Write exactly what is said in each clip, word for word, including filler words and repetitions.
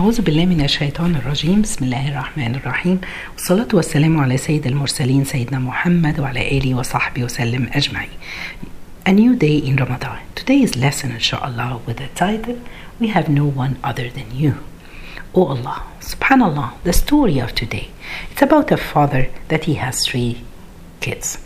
أعوذ بالله من الشيطان الرجيم. بسم الله الرحمن الرحيم، والصلاة والسلام على سيد المرسلين سيدنا محمد وعلى آله وصحبه وسلم أجمعين. A new day in Ramadan. Today's lesson, inshallah, with the title, We Have No One Other Than You. Oh Allah, subhanallah, the story of today. It's about a father that he has three kids.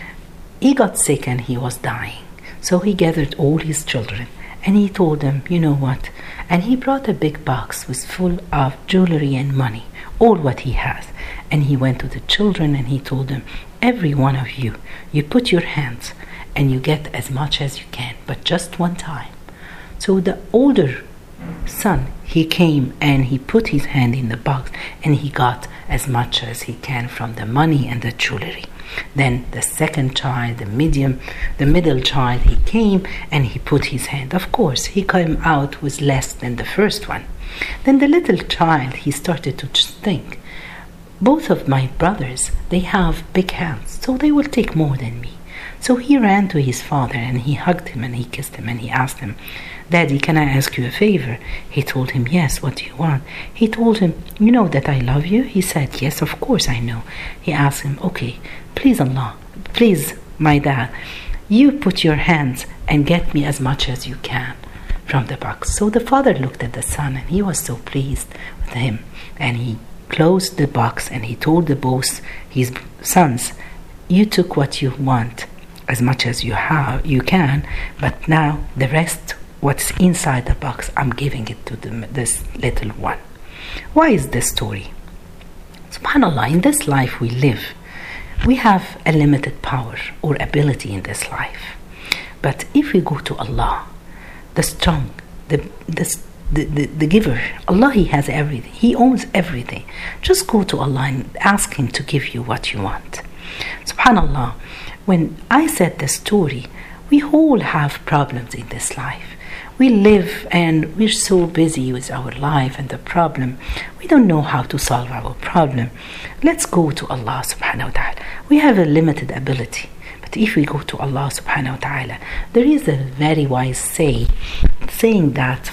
He got sick and he was dying. So he gathered all his children and he told them, you know what? And he brought a big box with full of jewelry and money, all what he has. And he went to the children and he told them, every one of you, you put your hands and you get as much as you can, but just one time. So the older son, he came and he put his hand in the box and he got as much as he can from the money and the jewelry. Then the second child, the medium, the middle child, he came and he put his hand. Of course, he came out with less than the first one. Then the little child, he started to just think, both of my brothers, they have big hands, so they will take more than me. So he ran to his father and he hugged him and he kissed him and he asked him, Daddy, can I ask you a favor? He told him, yes, what do you want? He told him, you know that I love you? He said, yes, of course I know. He asked him, okay, please Allah, please my dad, you put your hands and get me as much as you can from the box. So the father looked at the son and he was so pleased with him. And he closed the box and he told the both his sons, you took what you want as much as you have, you can, but now the rest, what's inside the box, I'm giving it to the, this little one. Why is this story? SubhanAllah, in this life we live, we have a limited power or ability in this life. But if we go to Allah, the strong, the, the, the, the, the giver, Allah, He has everything. He owns everything. Just go to Allah and ask Him to give you what you want. SubhanAllah, when I said the story, we all have problems in this life. We live and we're so busy with our life and the problem. We don't know how to solve our problem. Let's go to Allah subhanahu wa ta'ala. We have a limited ability. But if we go to Allah subhanahu wa ta'ala, there is a very wise say, saying that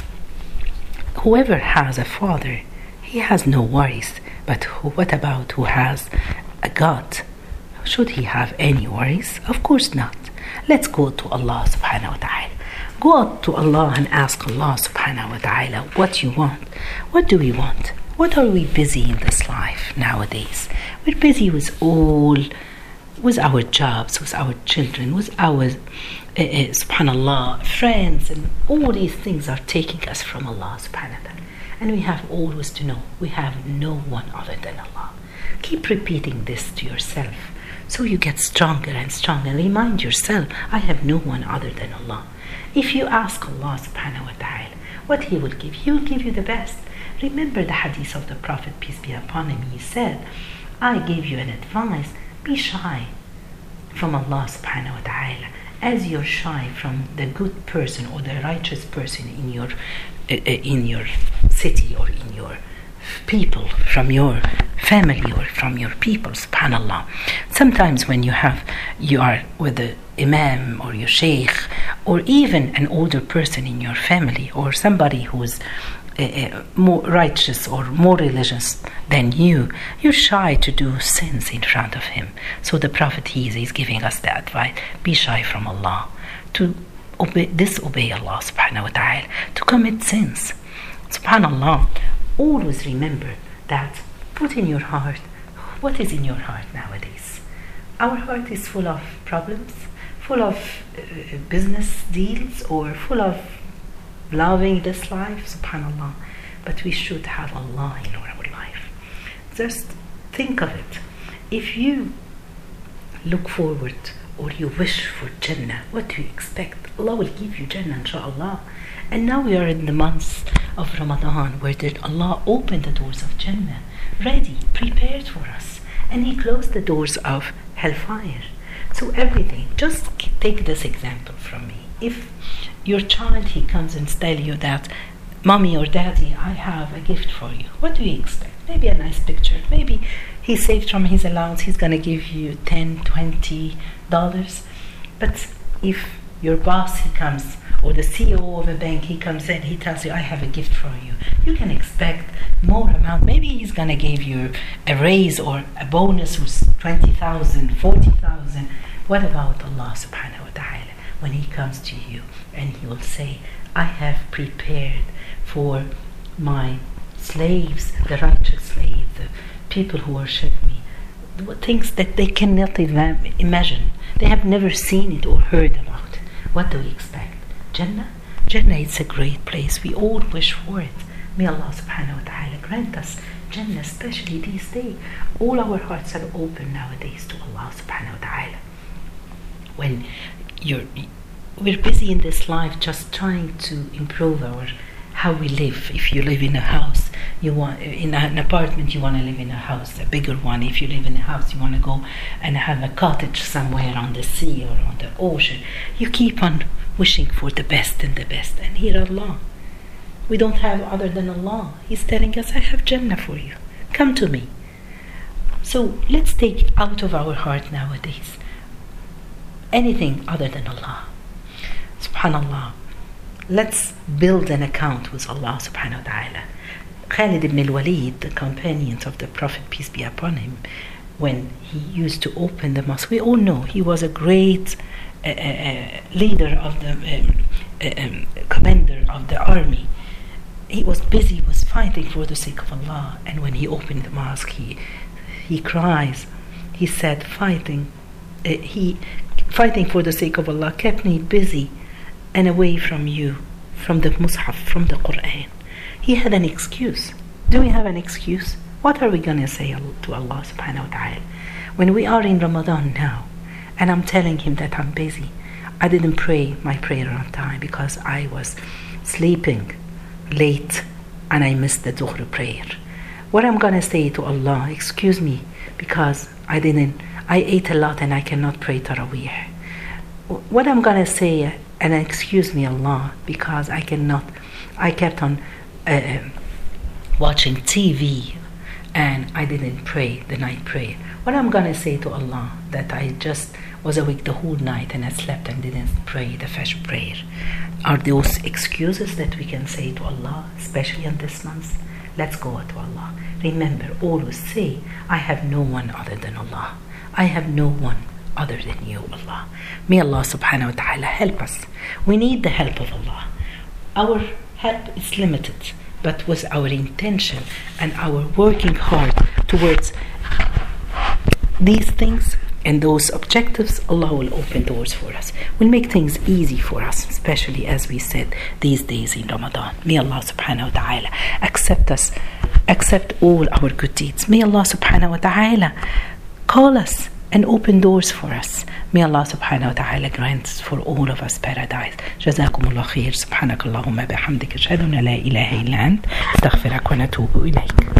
whoever has a father, he has no worries. But who, what about who has a God? Should he have any worries? Of course not. Let's go to Allah subhanahu wa ta'ala. Go out to Allah and ask Allah subhanahu wa ta'ala what you want. What do we want? What are we busy in this life nowadays? We're busy with all, with our jobs, with our children, with our, uh, uh, subhanallah, friends, and all these things are taking us from Allah subhanahu wa ta'ala. And we have always to know, we have no one other than Allah. Keep repeating this to yourself, so you get stronger and stronger. Remind yourself, I have no one other than Allah. If you ask Allah subhanahu wa ta'ala what He will give, He will give you the best. Remember the hadith of the Prophet, peace be upon him. He said, I gave you an advice, be shy from Allah subhanahu wa ta'ala as you're shy from the good person or the righteous person in your, uh, in your city or in your people, from your family or from your people, subhanallah. Sometimes when you have, you are with the imam or your sheikh or even an older person in your family or somebody who is uh, uh, more righteous or more religious than you, you're shy to do sins in front of him. So the Prophet, he is giving us the advice, be shy from Allah, to obey, disobey Allah subhanahu wa ta'ala, to commit sins. Subhanallah, always remember that, put in your heart, what is in your heart nowadays? Our heart is full of problems, full of uh, business deals, or full of loving this life, subhanallah. But we should have Allah in our life. Just think of it. If you look forward or you wish for Jannah, what do you expect? Allah will give you Jannah, inshallah. And now we are in the months of Ramadan where did Allah opened the doors of Jannah, ready, prepared for us. And He closed the doors of hellfire. So everything, just take this example from me. If your child, he comes and tells you that, Mommy or Daddy, I have a gift for you. What do you expect? Maybe a nice picture. Maybe he saved from his allowance, he's going to give you ten, twenty dollars. But if your boss, he comes, or the C E O of a bank, he comes in, he tells you, I have a gift for you, you can expect amount. Maybe he's going to give you a raise or a bonus with twenty thousand, forty thousand. What about Allah subhanahu wa ta'ala when he comes to you and he will say, I have prepared for my slaves, the righteous slaves, the people who worship me, things that they cannot even imagine. They have never seen it or heard about it. What do we expect? Jannah? Jannah is a great place. We all wish for it. May Allah subhanahu wa ta'ala grant us Jannah, especially these days. All our hearts are open nowadays to Allah subhanahu wa ta'ala. When you're, we're busy in this life just trying to improve our how we live. If you live in a house, you want in an apartment, you want to live in a house, a bigger one. If you live in a house, you want to go and have a cottage somewhere on the sea or on the ocean. You keep on wishing for the best and the best. And here Allah, we don't have other than Allah. He's telling us, I have Jannah for you. Come to me. So let's take out of our heart nowadays anything other than Allah. Subhanallah. Let's build an account with Allah subhanahu wa ta'ala. Khalid ibn al-Walid, the companion of the Prophet, peace be upon him, when he used to open the mosque, we all know he was a great uh, uh, leader of the um, uh, um, commander of the army. He was busy, was fighting for the sake of Allah, and when he opened the mosque, he he cries. He said, fighting, uh, he fighting for the sake of Allah kept me busy and away from you, from the Mus'haf, from the Quran. He had an excuse. Do we have an excuse? What are we going to say to Allah subhanahu wa ta'ala? When we are in Ramadan now, and I'm telling him that I'm busy, I didn't pray my prayer on time because I was sleeping late and I missed the Dhuhr prayer. What I'm going to say to Allah, excuse me, because I didn't, I ate a lot and I cannot pray Taraweeh. What I'm going to say, and excuse me Allah, because I cannot, I kept on uh, watching T V and I didn't pray the night prayer. What I'm going to say to Allah, that I just was awake the whole night and I slept and didn't pray the Fajr prayer. Are those excuses that we can say to Allah, especially in this month? Let's go to Allah. Remember, always say, I have no one other than Allah. I have no one other than you, Allah. May Allah subhanahu wa ta'ala help us. We need the help of Allah. Our help is limited, but with our intention and our working hard towards these things and those objectives, Allah will open doors for us, will make things easy for us, especially as we said these days in Ramadan. May Allah subhanahu wa ta'ala accept us, accept all our good deeds. May Allah subhanahu wa ta'ala call us and open doors for us. May Allah subhanahu wa ta'ala grant for all of us paradise. Jazakumullah khair. Subhanakallahumma bihamdika ashhadu an la ilaha illa ant astaghfiruka wa atubu ilayk.